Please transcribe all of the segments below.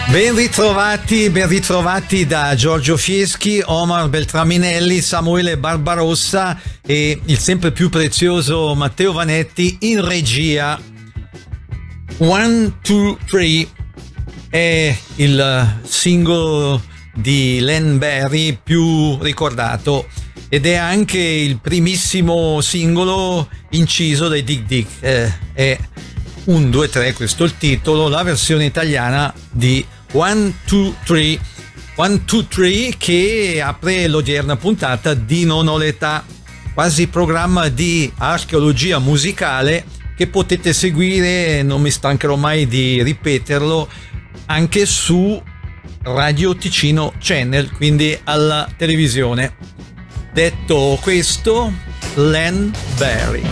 Ben ritrovati da Giorgio Fieschi, Omar Beltraminelli, Samuele Barbarossa e il sempre più prezioso Matteo Vanetti in regia. 1, 2, 3 è il singolo di Len Barry più ricordato ed è anche il primissimo singolo inciso dai Dig Dig. È 1, 2, 3, questo è il titolo, la versione italiana di 1, 2, 3, 1, 2, 3, che apre l'odierna puntata di Non ho l'età, quasi programma di archeologia musicale che potete seguire, non mi stancherò mai di ripeterlo, anche su Radio Ticino Channel, quindi alla televisione. Detto questo, Len Barry.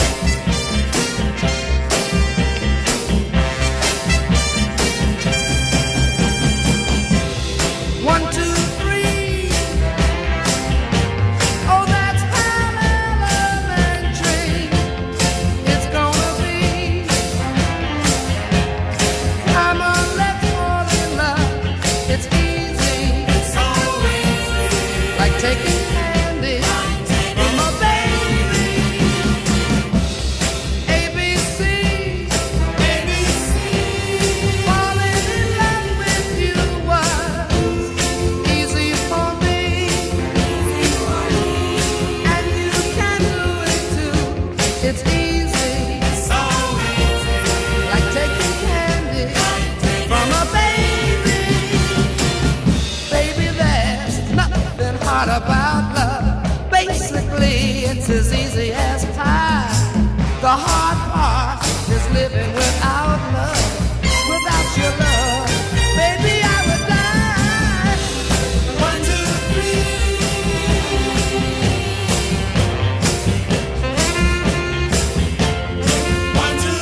About love, basically it's as easy as pie. The hard part is living without love. Without your love, baby, I would die. 1, 2, 3. 1, 2,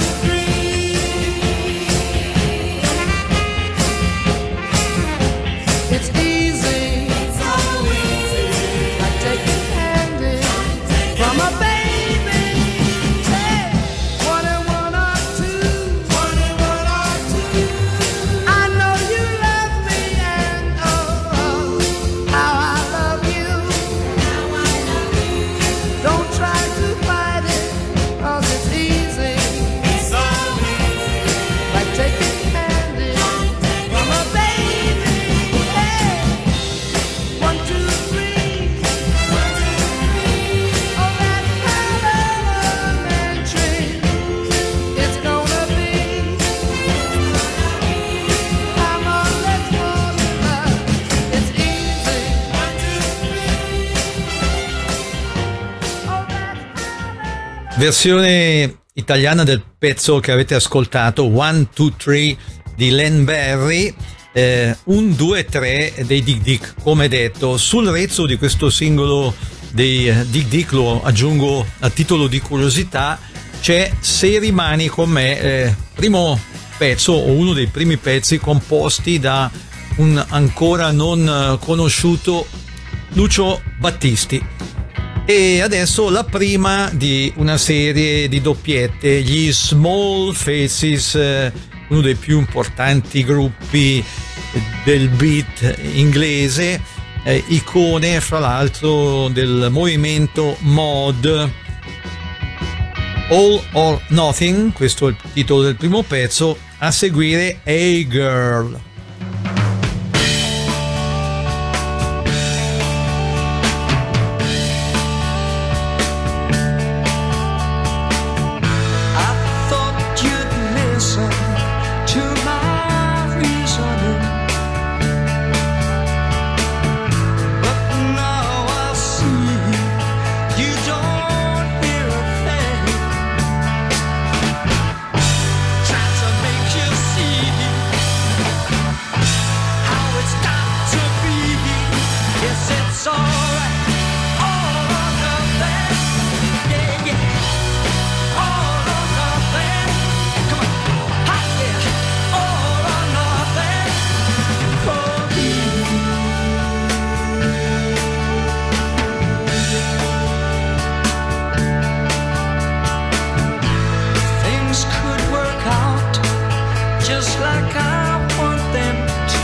3. It's easy. Versione italiana del pezzo che avete ascoltato, 1, 2, 3 di Len Barry, 1, 2, 3 dei Dig Dig, come detto. Sul rezzo di questo singolo dei Dig Dig, lo aggiungo a titolo di curiosità, c'è Se rimani con me, primo pezzo o uno dei primi pezzi composti da un ancora non conosciuto Lucio Battisti. E adesso la prima di una serie di doppiette, gli Small Faces, uno dei più importanti gruppi del beat inglese, icone fra l'altro del movimento mod. All or Nothing, questo è il titolo del primo pezzo, a seguire Hey Girl. Just like I want them to.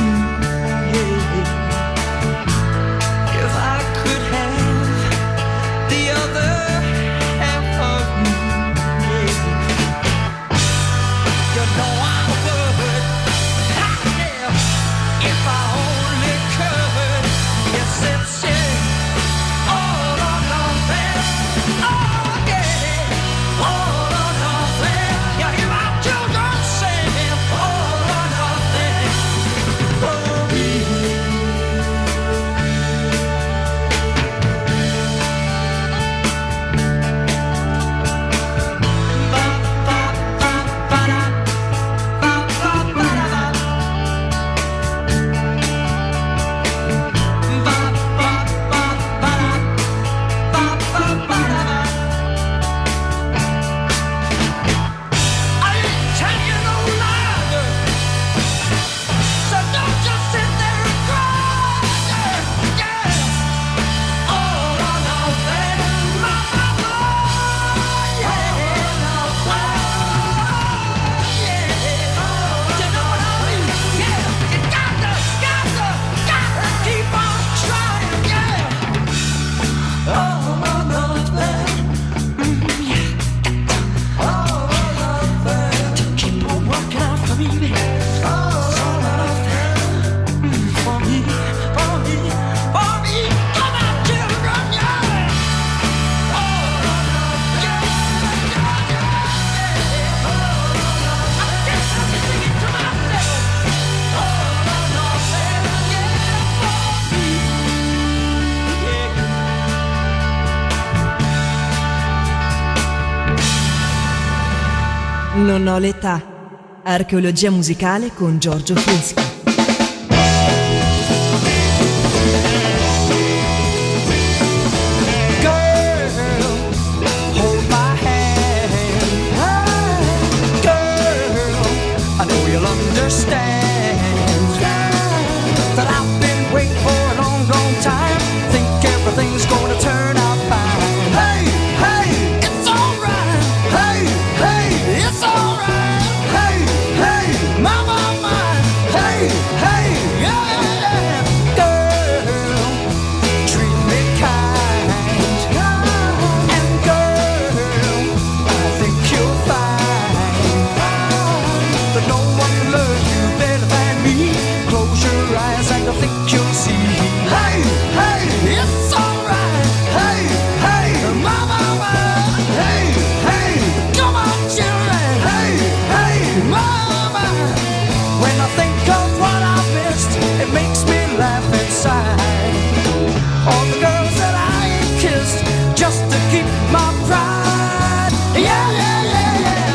Non ho l'età. Archeologia musicale con Giorgio Fieschi. Everything's gonna turn out fine. Hey, hey, it's alright. Hey, hey, it's alright. Hey, hey, my, my, my. Hey, hey, yeah, yeah. Girl, treat me kind. And girl, I think you're fine. But no one can love you better than me. Close your eyes and I think you'll see. Hey, hey, it's alright. Hey, hey, my, my, my. Hey, hey, come on, children. Hey, hey, my, my. When I think of what I've missed, it makes me laugh inside. All the girls that I ain't kissed, just to keep my pride. Yeah, yeah, yeah, yeah.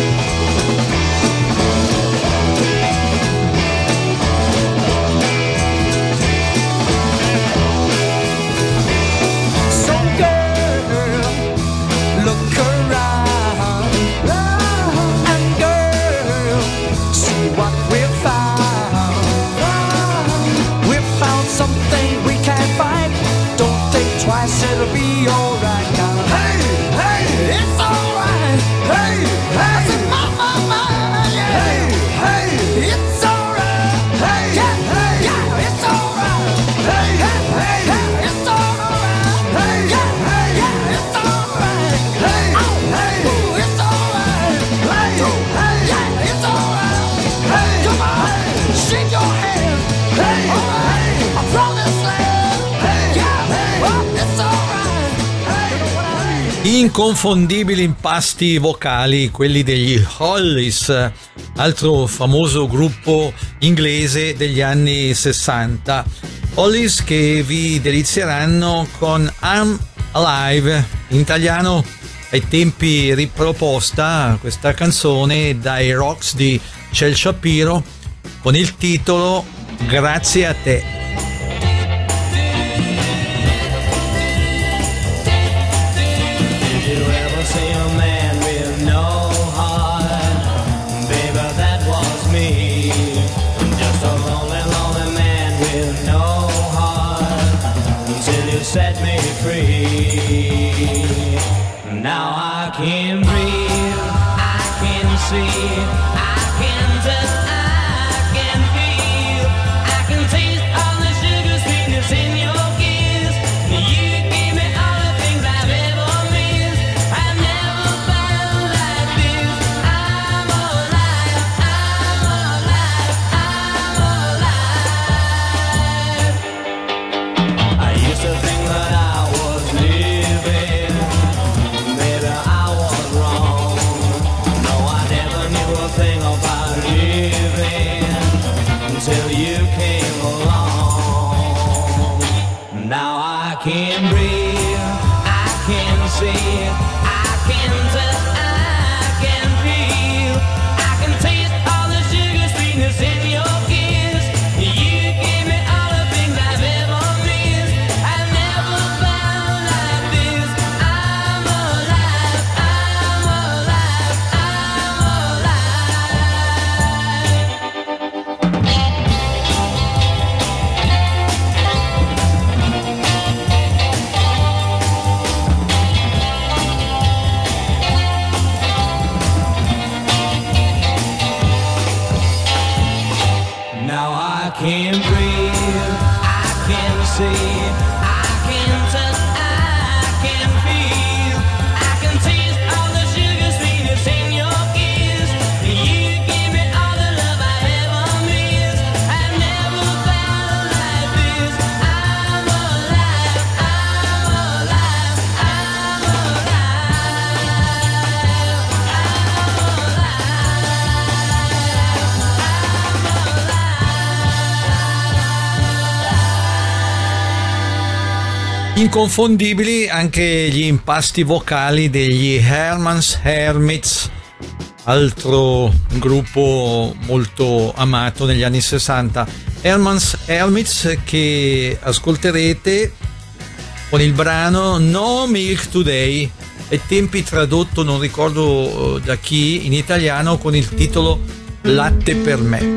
So girl, look around. And girl, see what we've found. We've found something we can't find. Don't think twice, it'll be alright now. Hey, hey, it's alright. Hey, hey, I said, my, yeah. Hey, hey, it's alright. Hey, yeah, hey, yeah, it's alright. Hey, hey, hey, yeah, it's alright. Hey, yeah, hey, yeah, it's alright. Hey, hey, ooh, it's alright. Hey, hey, yeah, it's alright. Hey, come on, shake your hand. Hey, alright, I promise land. Hey, yeah, hey, oh, it's alright. Hey, Inconfondibili impasti vocali, quelli degli Hollies, altro famoso gruppo inglese degli anni 60. Hollies che vi delizieranno con I'm Alive, in italiano ai tempi riproposta questa canzone dai Rocks di Cel Shapiro con il titolo Grazie a te. Did you ever see a man with no heart? Baby, that was me. Just a lonely, lonely man with no heart until you set me free. Now I can breathe, I can see, I can touch, I can feel, I can taste all the sugar sweetness in your kiss. You gave me all the things I've ever missed. I've never felt like this. I'm alive, I'm alive, I'm alive. I used to think that I was living. Maybe I was wrong. No, I never knew a thing about living until you came along. Now I can breathe, I can see, I can touch, I can feel, I can taste all the sugar sweetness in your kiss. You gave me all the things I've ever missed. I've never felt like this. I'm alive, I'm alive, I'm Now I can breathe, I can see, I can touch, I can feel, I can taste all the sugar sweetness in your kiss. You gave me all the love I've ever missed. I've never felt like this. I'm alive, I'm alive, I'm Inconfondibili anche gli impasti vocali degli Herman's Hermits, altro gruppo molto amato negli anni 60. Helmets, che ascolterete con il brano No Milk Today, ai tempi tradotto non ricordo da chi in italiano con il titolo Latte per me.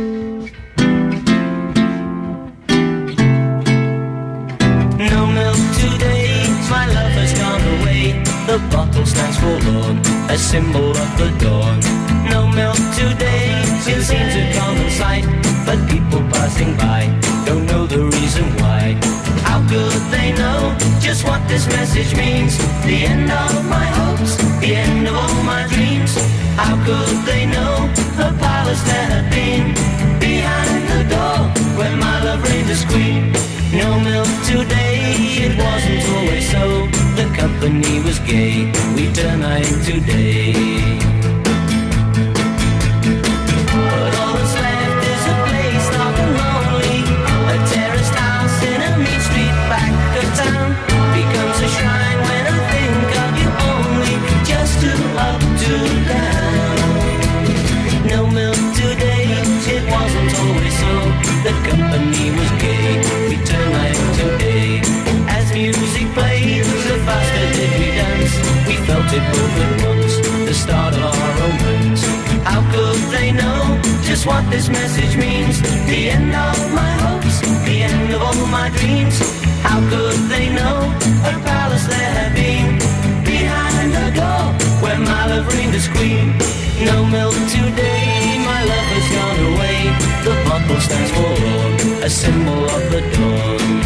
The bottle stands for Lord, a symbol of the dawn. No milk today, it seems a common sight, but people passing by don't know the reason why. How could they know just what this message means? The end of my hopes, the end of all my dreams. How could they know the palace there had been behind the door where my love reigned as queen? No milk today, it wasn't always so. The company was gay, we turn night today. But all that's left is a place dark and lonely. A terraced house in a mean street back of town becomes a shrine when I think of you only. Just to up, to down. No milk today, it wasn't always so. The company was gay, we turn night today. As music played, the faster did we dance. We felt it both at once, the start of our romance. How could they know just what this message means? The end of my hopes, the end of all my dreams. How could they know a palace there had been behind the door where my love reigned as queen? No milk today, my love has gone away. The bottle stands for Lord, a symbol of the dawn.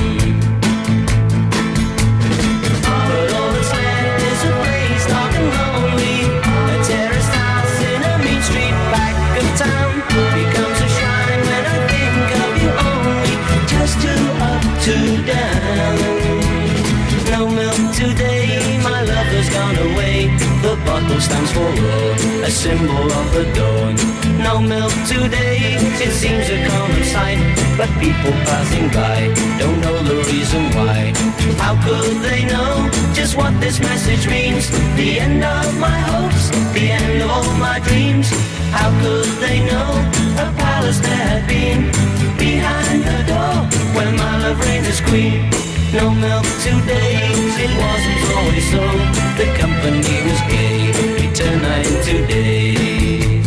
To down. No milk today, my love has gone away. The bottle stands for Lord, a symbol of the dawn. No milk today, it seems a common sight, but people passing by don't know the reason why. How could they know just what this message means? The end of my hopes, the end of all my dreams. How could they know a palace there had been behind the door where my love reigns as queen? No milk today, it wasn't always so. The company was gay, we turn night today.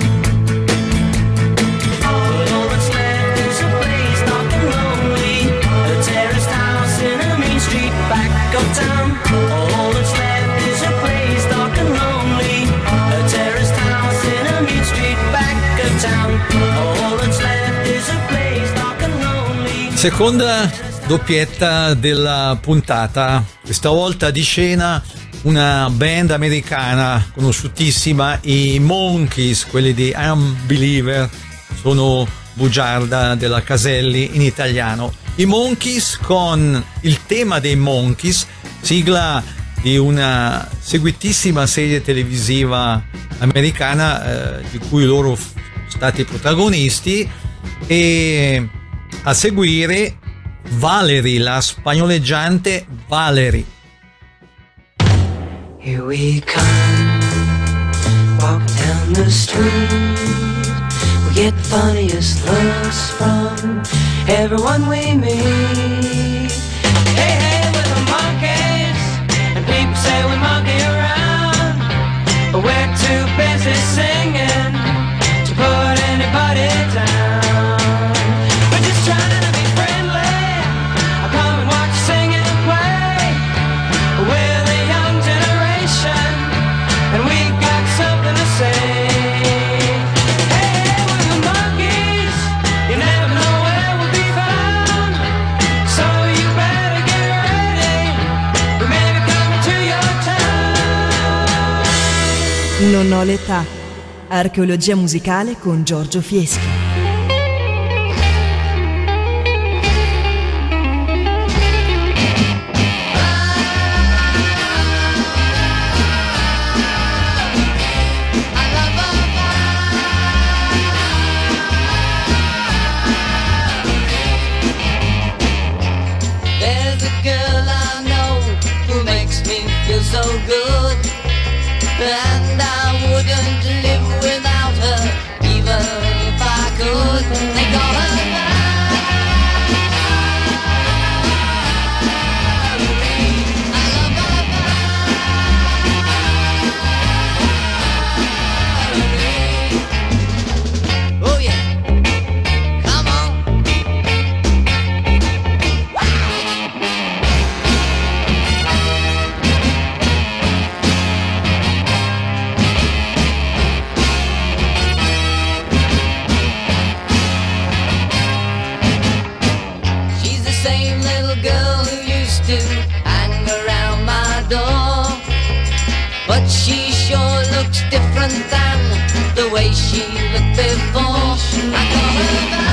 But all that's left is a place dark and lonely, a terraced house in a mean street back of town. All that's left is a place dark and lonely, a terraced house in a mean street back of town. All that's left is a place dark and lonely. Seconda doppietta della puntata, questa volta di scena una band americana conosciutissima, i Monkees, quelli di Unbeliever, sono bugiarda della Caselli in italiano. I Monkees con il tema dei Monkees, sigla di una seguitissima serie televisiva americana di cui loro sono stati protagonisti, e a seguire Valerie, la spagnoleggiante Valerie. Here we come, walking down the street. We get the funniest looks from everyone we meet. Hey, hey, we're the Monkees, and people say we monkey around, but we're too busy singing to put anybody down. We're just trying to be friendly. I come and watch you sing and play. We're the young generation, and we got something to say. Hey, we're the Monkees. You never know where we'll be found, so you better get ready. We may be coming to your town. Non ho l'età. Archeologia musicale con Giorgio Fieschi. There's a girl I know who makes me feel so good, and I wouldn't live looked before I call her back.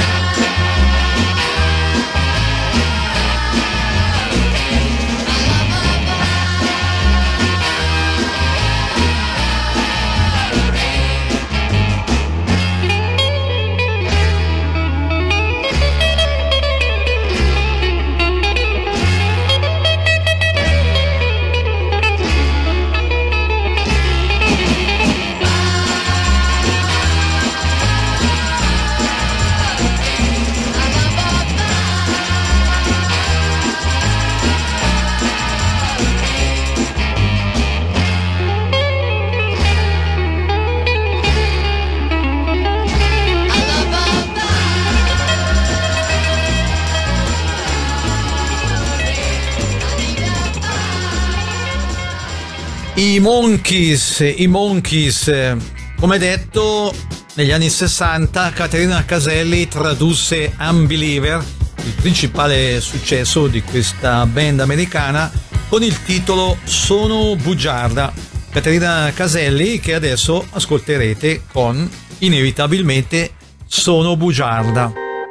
I Monkees, come detto, negli anni 60 Caterina Caselli tradusse Unbeliever, il principale successo di questa band americana, con il titolo Sono bugiarda. Caterina Caselli che adesso ascolterete con inevitabilmente Sono bugiarda.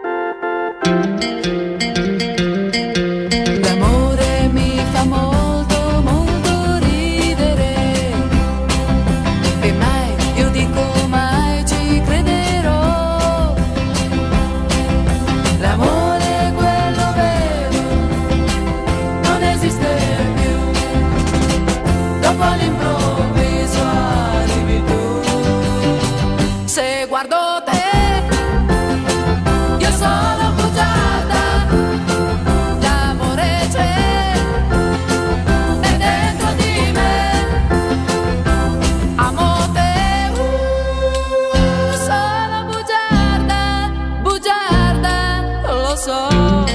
L'amore mi fa molto, molto ridere e mai, io dico mai ci crederò. L'amore è quello vero, non esiste più, dopo all'improvviso arrivi tu. Se guardo te io sono bugiarda, l'amore c'è è dentro di me, amo te, sono bugiarda, bugiarda, lo so.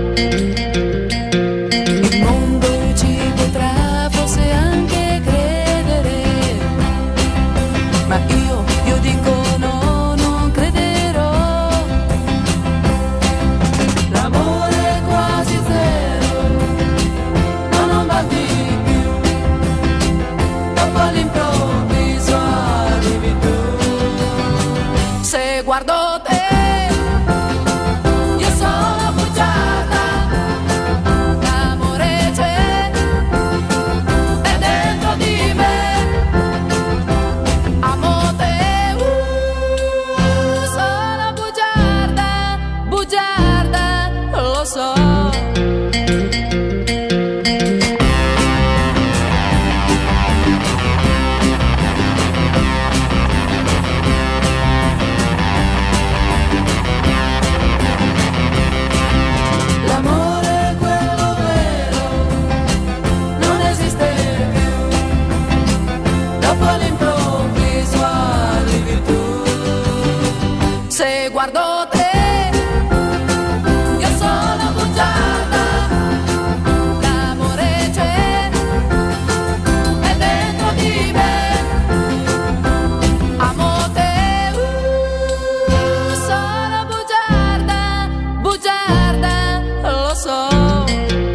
Il mondo ci potrà forse anche credere, ma io dico no, non crederò. L'amore è quasi zero, ma non va di più, dopo all'improvviso arrivi tu. Se guardo te io sono bugiarda, l'amore c'è è dentro di me, amo te, sono bugiarda, bugiarda, lo so. L'amore è quello vero, non esiste più, dopo all'improvviso arrivi tu. Se guardo te io sono bugiarda, l'amore c'è è dentro di me, amo te, sono bugiarda, bugiarda, lo so.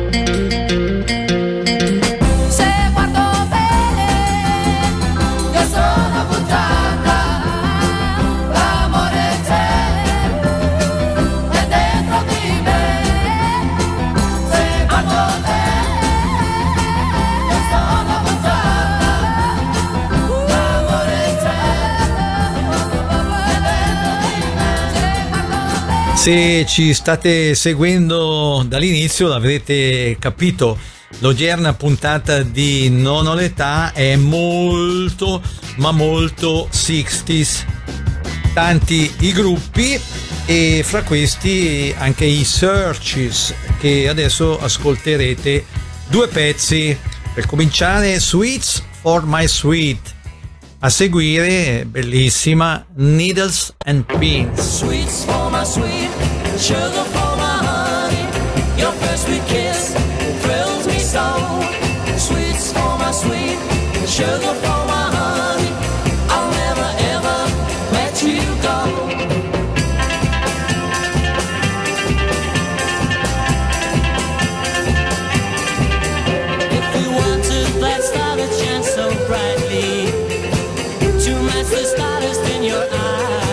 Se guardo te io sono bugiarda, l'amore c'è è dentro di me, se guardo te io sono bugiarda, l'amore c'è è dentro di me, se guardo te. Se ci state seguendo dall'inizio l'avrete capito, l'odierna puntata di Non ho l'età è molto ma molto 60s. Tanti i gruppi e fra questi anche i Searches, che adesso ascolterete due pezzi. Per cominciare, Sweets for My Sweet, a seguire, bellissima, Needles and Pins. Sweets for my sweet, sugar for my honey. Your first sweet kiss thrills me so. Sweets for my sweet, sugar for my honey. I'll never ever let you go. If you wanted that star that shines so brightly, to match the stardust in your eyes,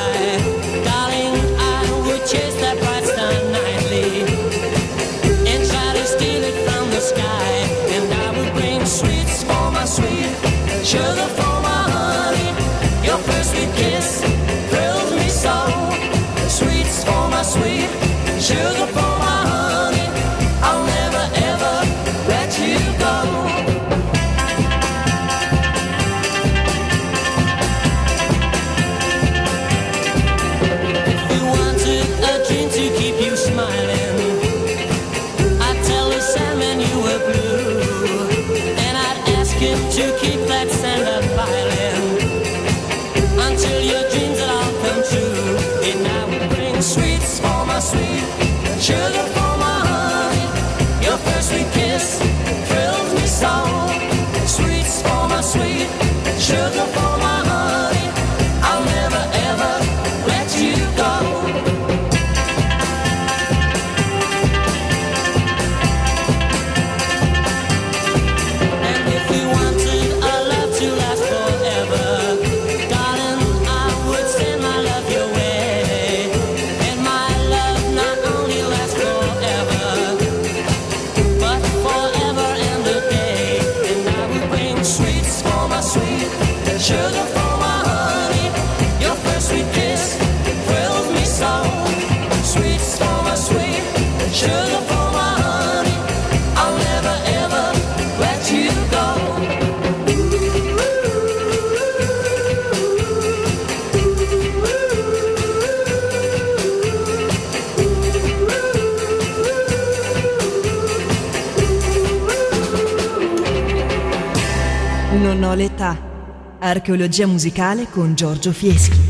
Non ho l'età. Archeologia musicale con Giorgio Fieschi.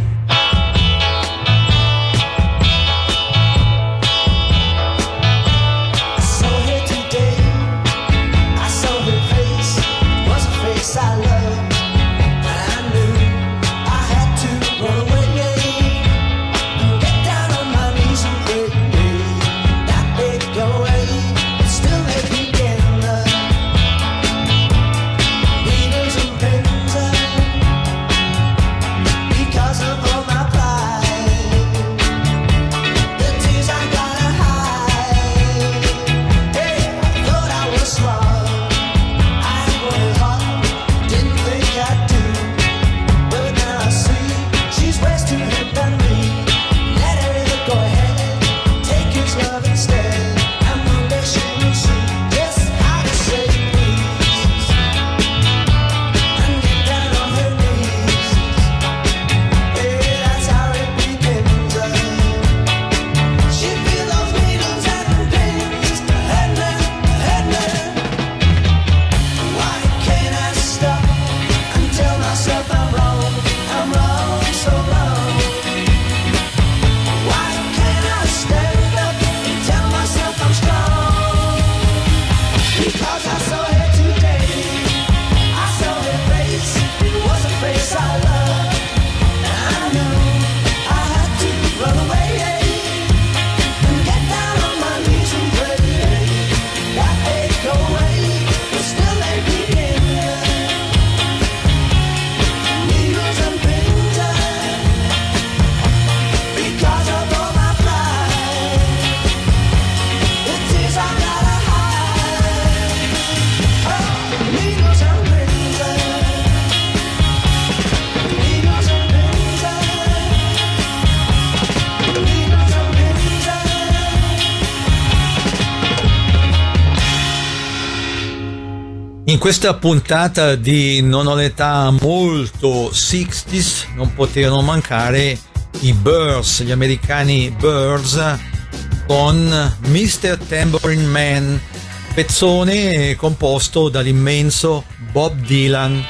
In questa puntata di Non ho l'età molto 60s non poterono mancare i Byrds, gli americani Byrds, con Mr. Tambourine Man, pezzone composto dall'immenso Bob Dylan.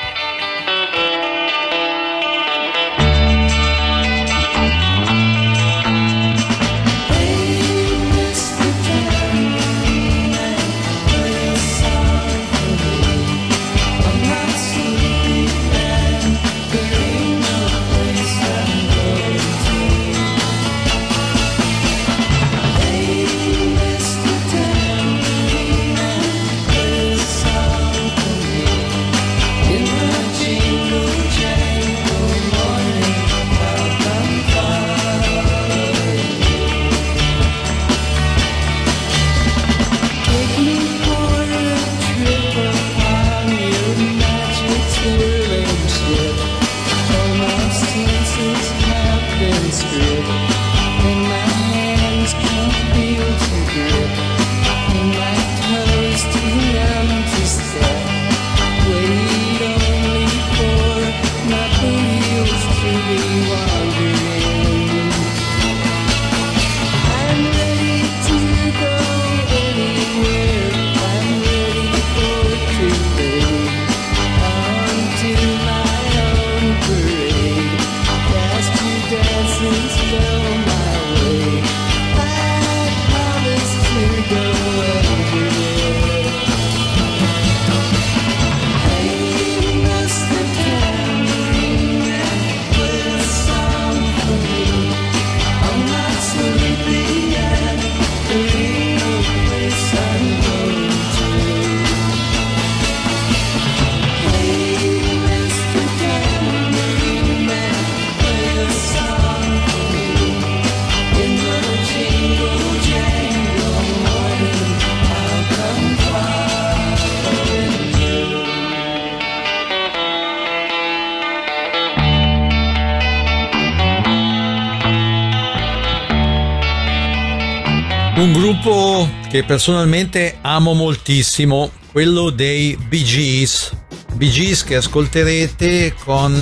Un gruppo che personalmente amo moltissimo, quello dei Bee Gees. Bee Gees che ascolterete con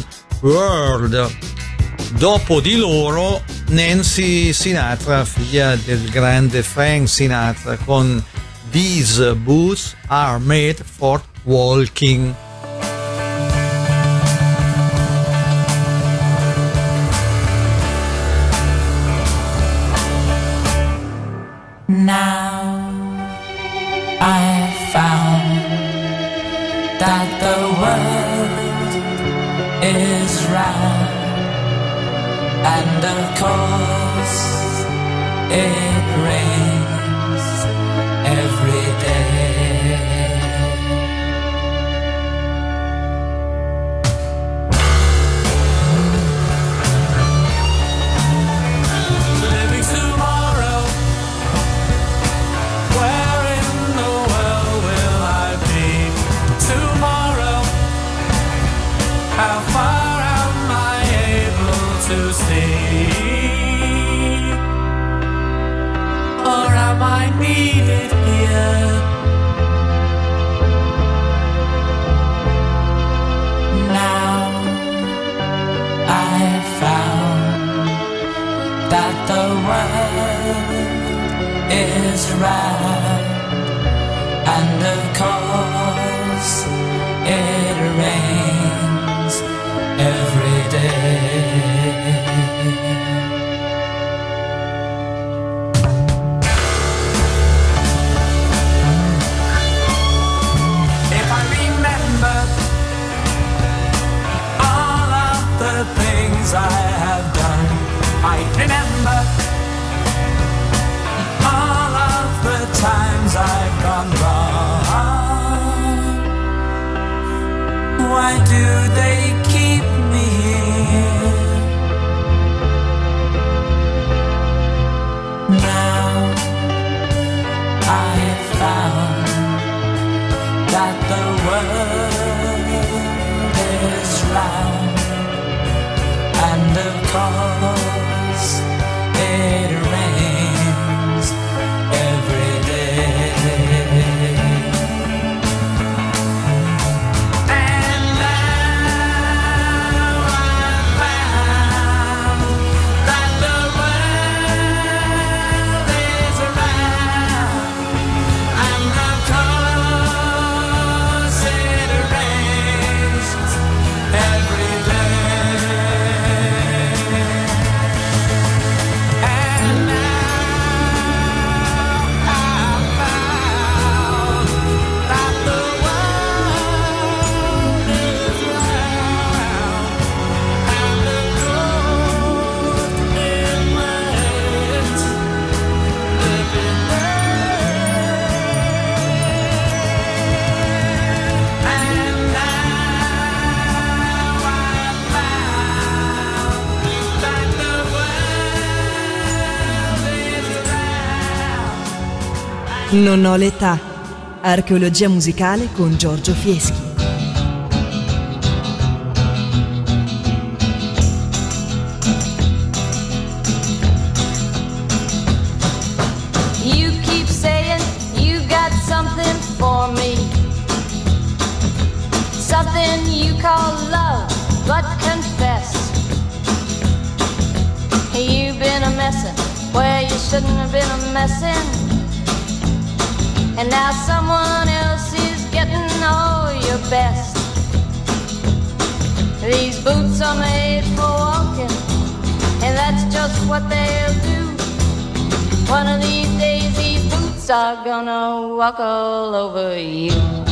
World. Dopo di loro Nancy Sinatra, figlia del grande Frank Sinatra, con These Boots Are Made for Walking. world is round, and of course it rains every day. Living tomorrow, where in the world will I be tomorrow? How far am I able to see? Or am I needed here? Now I've found that the world is round, and of course it rains every day. If I remember all of the things I have done, I remember all of the times I've gone wrong. Why do they keep me here? Now I have found that the world is round, and of course it rains every day. And now I found that the world is round, and of course it rains every day. And now I found that the world is round, and of course it rains every day. And now I found that the world is round. Non ho l'età. Archeologia musicale con Giorgio Fieschi. You keep saying you got something for me, something you call love, but confess you've been a messin' where you shouldn't have been a messin', and now someone else is getting all your best. These boots are made for walking, and that's just what they'll do. One of these days these boots are gonna walk all over you.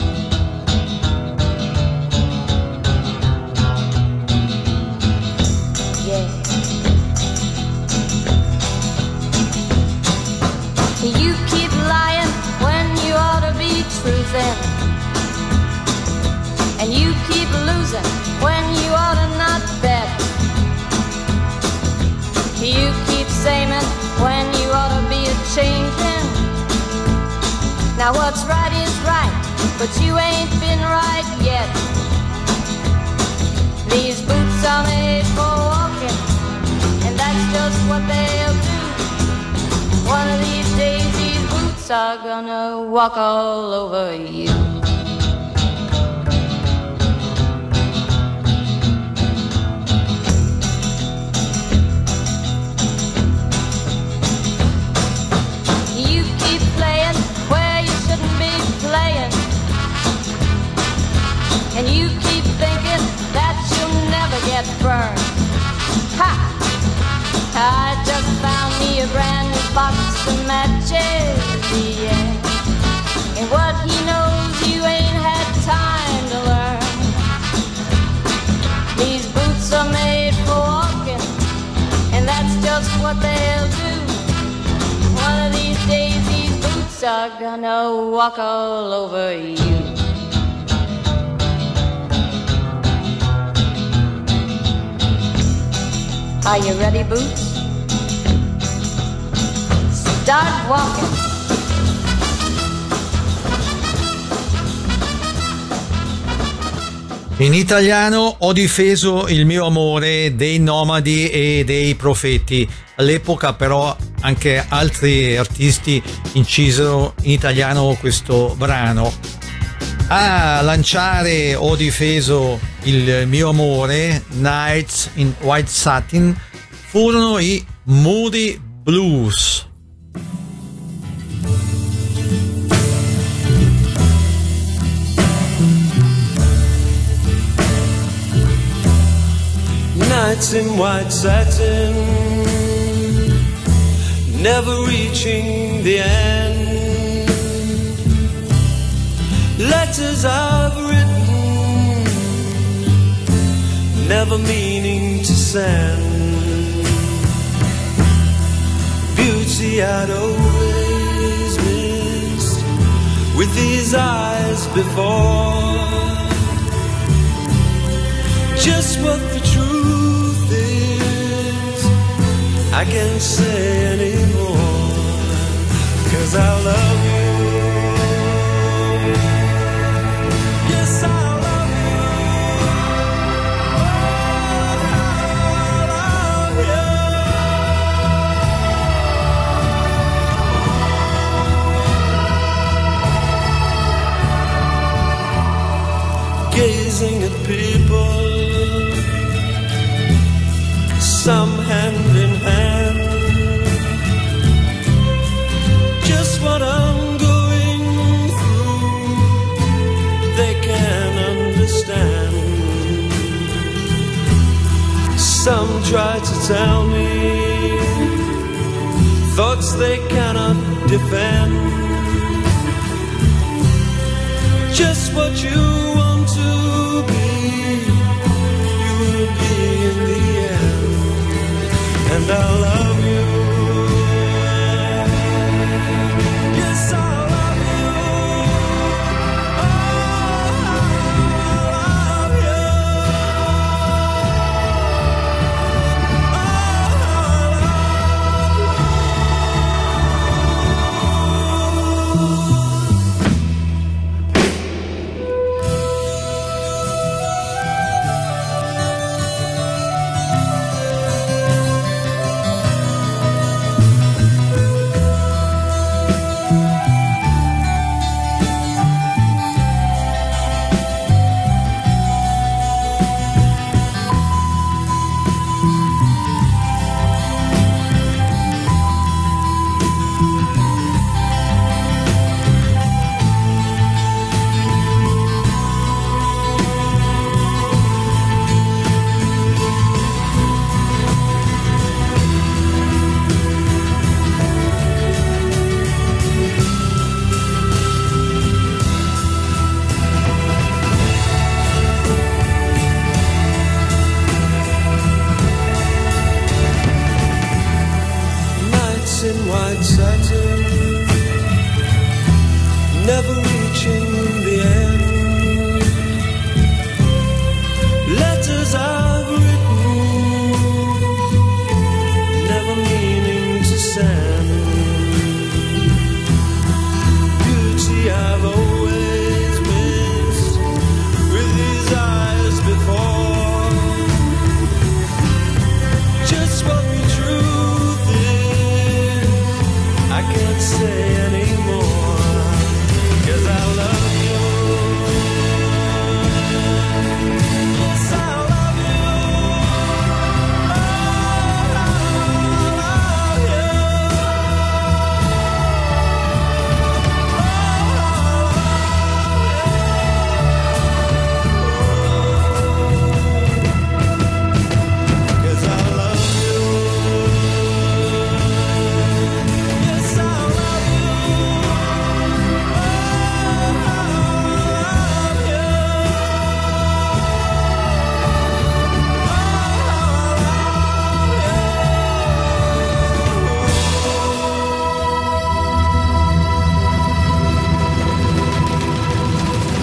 Yeah. You keep lying when you ought to be truthin', and you keep losing when you ought to not bet. You keep saying when you ought to be a-changin'. Now what's right is right, but you ain't been right yet. These boots are made for walking, and that's just what they'll do. One of these days these boots are gonna walk all over you. You keep playing where you shouldn't be playing, and you keep thinking that you'll never get burned. Ha! I just found me a brand new box of matches, yeah. And what he knows you ain't boots are gonna walk all over you. Are you ready, Boots? Start walking. In italiano Ho difeso il mio amore dei Nomadi e dei Profeti. All'epoca però anche altri artisti incisero in italiano questo brano. A lanciare Ho difeso il mio amore, Nights in White Satin, furono i Moody Blues. Nights in white satin, never reaching the end. Letters I've written, never meaning to send. Beauty I'd always missed with these eyes before. Just what the truth is, I can't say anymore, 'cause I love you. Yes, I love you. I love you. Gazing at people, some hand in hand, just what I'm going through, they can understand. Some try to tell me thoughts they cannot defend, just what you want to be, you will be in the end. And I love you. Yes, I love you. Oh, I love you. In white satin, never reaching the end. Letters I've written, never meaning to send. Beauty I've always missed with these eyes before. Just what the truth is, I can't say anymore, 'cause I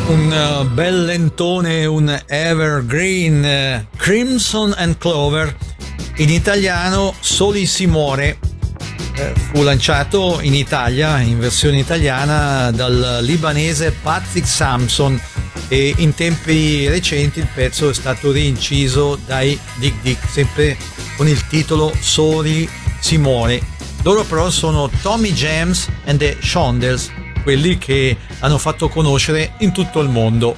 Bel lentone, un evergreen, Crimson and Clover, in italiano Soli si muore, fu lanciato in Italia, in versione italiana, dal libanese Patrick Sampson, e in tempi recenti il pezzo è stato rinciso dai Dick Dick, sempre con il titolo Soli si muore. Loro però sono Tommy James and the Shondells, quelli che hanno fatto conoscere in tutto il mondo.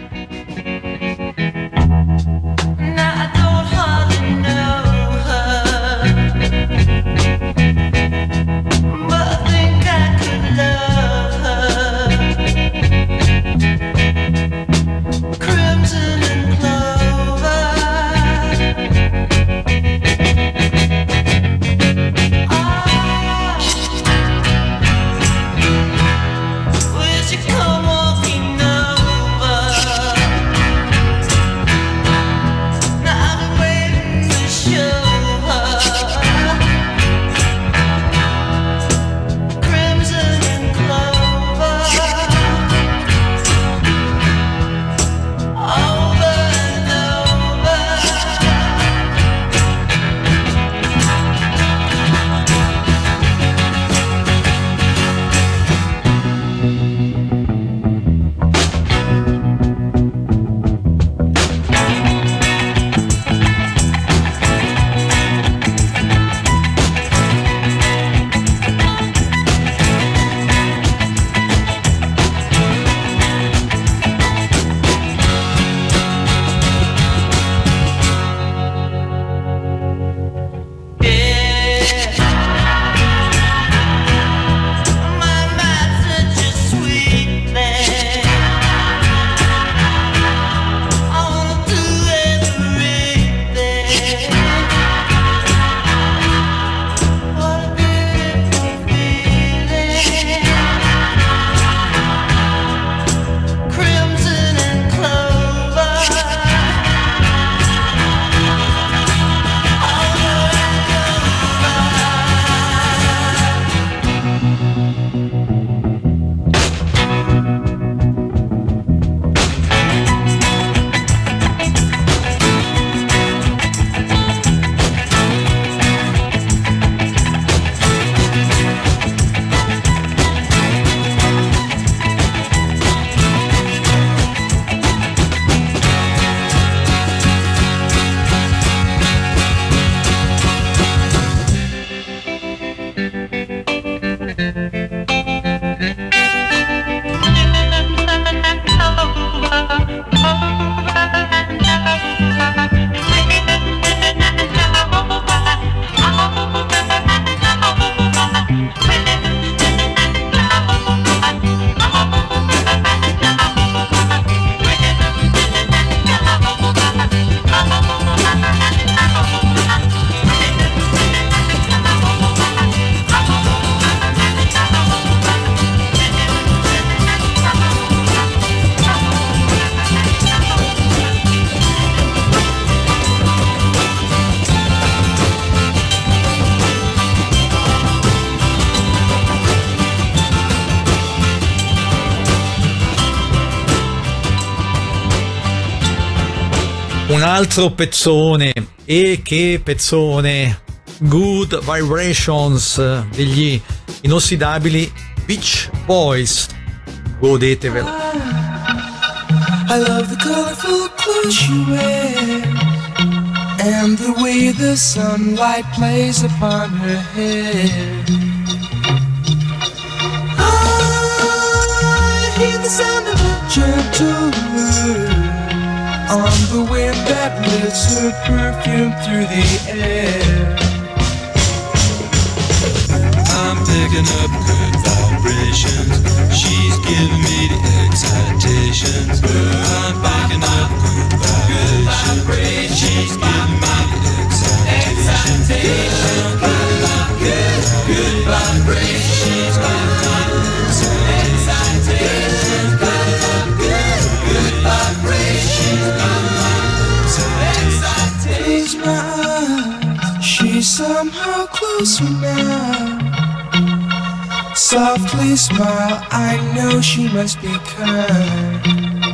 Un altro pezzone, e che pezzone, Good Vibrations degli inossidabili Beach Boys, godetevelo. I love the colorful clothes you wear and the way the sunlight plays upon her hair. I hear the sound of a gentle word on the wind that lifts her perfume through the air. I'm picking up good vibrations. She's giving me the excitations. I'm picking up good vibrations. She's giving me the excitations. Good vibrations. She's giving me the excitations. Good vibrations. Close my eyes, she's somehow closer now. Softly smile, I know she must be kind.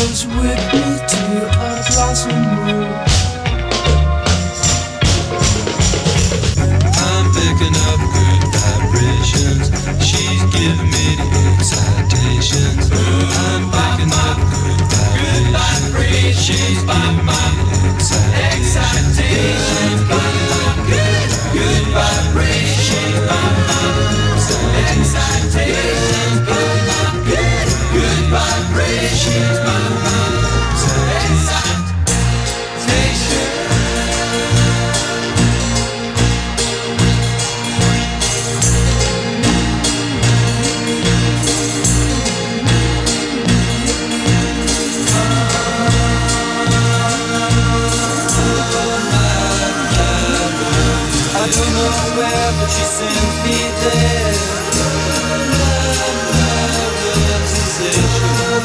goes with me to a blossom room. I'm picking up good vibrations. She's giving me the excitations. I'm picking up good vibrations. She's giving me the excitations. Good vibrations. Excitations. Good vibrations. I don't know where, but she sends me there. Love, sensation.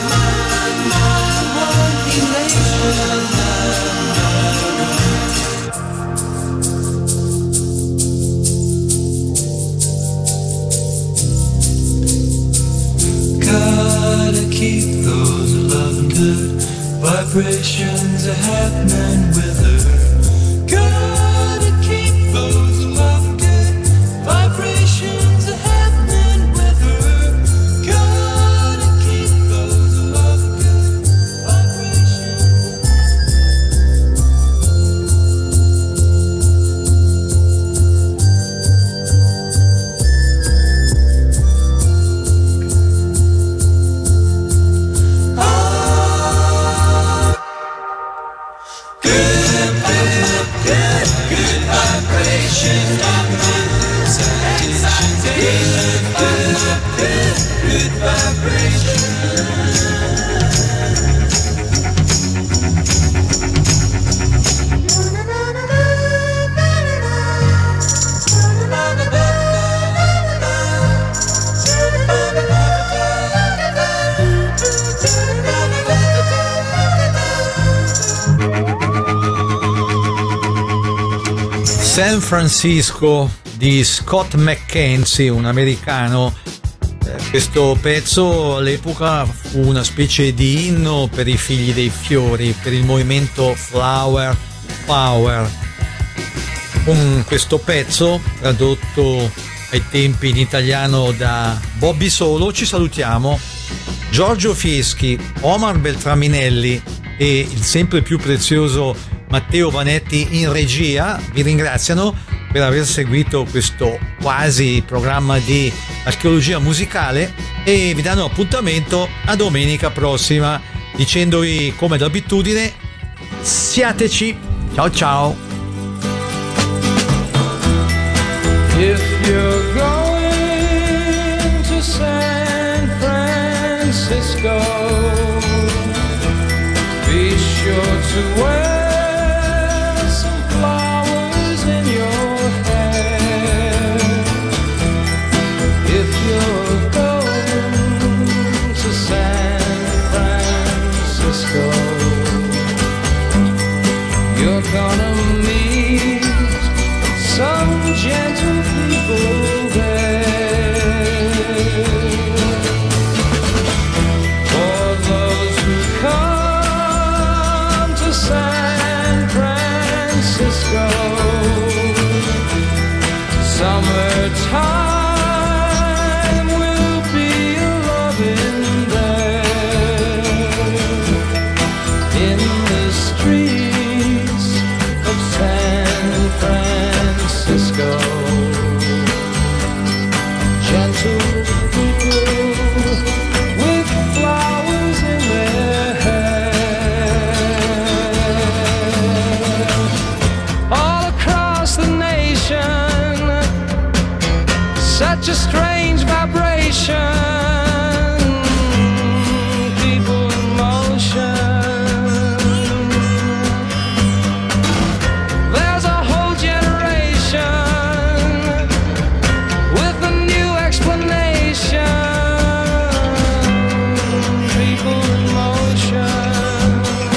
Gotta keep those loving good vibrations are happening with her. Gotta keep those loving good vibrations are happening with her. Gotta keep those loving good vibrations. San Francisco di Scott McKenzie, un americano. Questo pezzo all'epoca fu una specie di inno per i figli dei fiori, per il movimento Flower Power. Con questo pezzo, tradotto ai tempi in italiano da Bobby Solo, ci salutiamo. Giorgio Fieschi, Omar Beltraminelli e il sempre più prezioso Matteo Vanetti in regia vi ringraziano per aver seguito questo quasi programma di archeologia musicale e vi danno appuntamento a domenica prossima dicendovi come d'abitudine siateci, ciao ciao. If you're going to San Francisco, be sure to wear flowers in your hair. If you're going to San Francisco, you're gonna meet some gentle people there. For those who come to San Francisco, summertime will be a-loving there. In the streets of San Francisco, gentle people with flowers in their hair. All across the nation, such a strange vibration, people in motion. There's a whole generation with a new explanation, people in motion,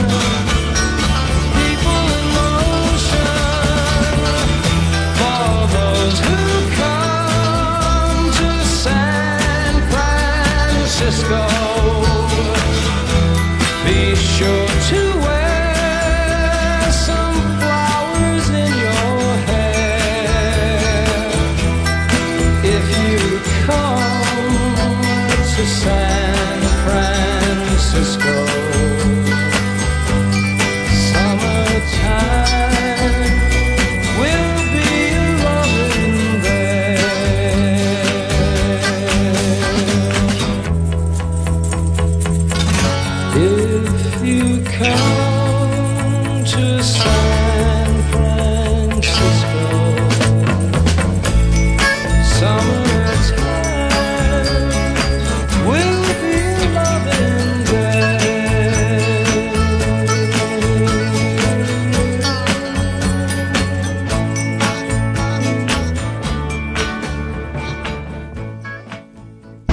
people in motion. For those who come to San Francisco,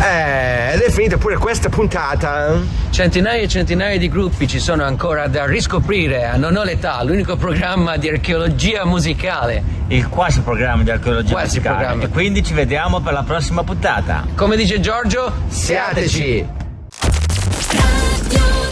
Ed è finita pure questa puntata. Centinaia e centinaia di gruppi ci sono ancora da riscoprire a Non ho l'età, l'unico programma di archeologia musicale. Il quasi programma di archeologia musicale. Programma. E quindi ci vediamo per la prossima puntata. Come dice Giorgio, Siateci! Radio